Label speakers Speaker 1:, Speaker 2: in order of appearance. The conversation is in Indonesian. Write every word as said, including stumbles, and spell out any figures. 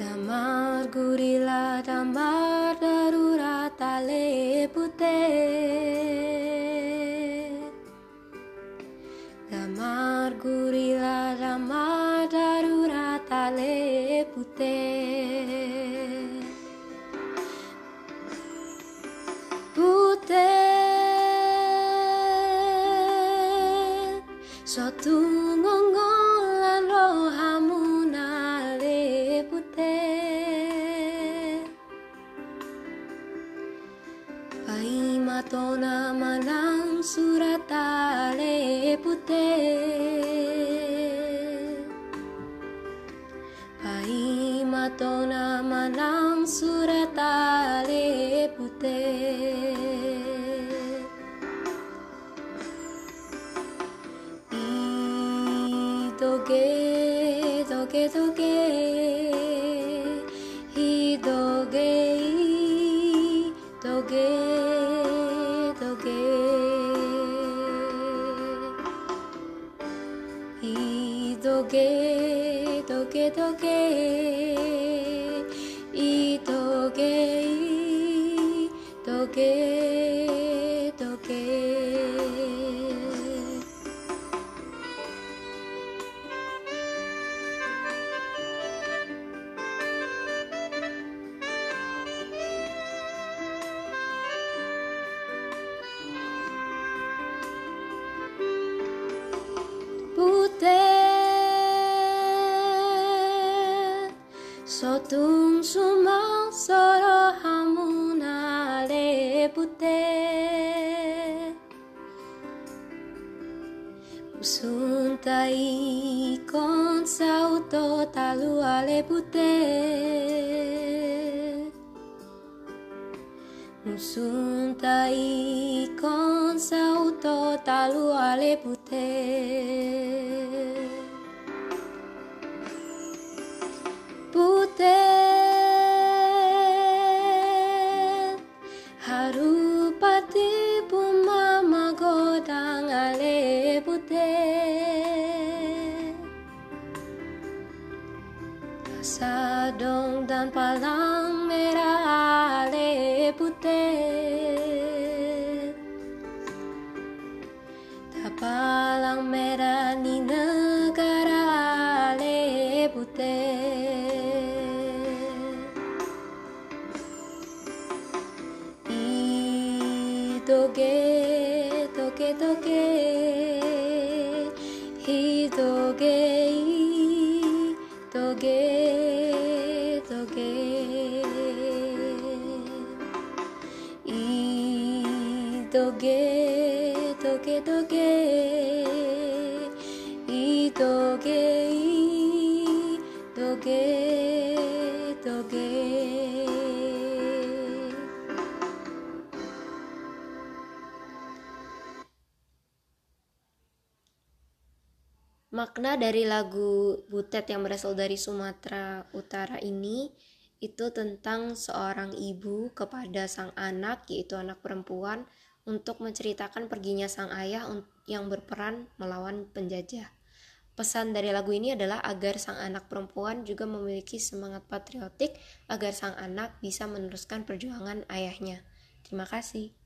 Speaker 1: Damar gurila damar darurat tale putih. Damar gurila damar darurat tale putih. Putih suatu ngongolan rohamu nale putih. Pai matona manang surat tale putih. Pai matona manang surat tale putih. Doge, doge, doge, hi doge, doge, doge, hi doge, doge, doge, hi doge, doge, doge. Putih sotung sumang soro hamuna le putih. Usuntai kon sauto talu ale putih. Usuntai kon sauto talu ale putih. Putih harupati pumama godang ale putih. Sadong dan palang merah ale putih. Palang merah ni negara ale putih. I doge, doge, doge, hi doge, doge, doge, i doge. Doge, doge, i doge, doge, doge. Makna dari lagu Butet yang berasal dari Sumatera Utara ini itu tentang seorang ibu kepada sang anak, yaitu anak perempuan, untuk menceritakan perginya sang ayah yang berperan melawan penjajah. Pesan dari lagu ini adalah agar sang anak perempuan juga memiliki semangat patriotik agar sang anak bisa meneruskan perjuangan ayahnya. Terima kasih.